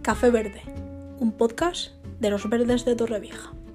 Café Verde, un podcast de los Verdes de Torrevieja.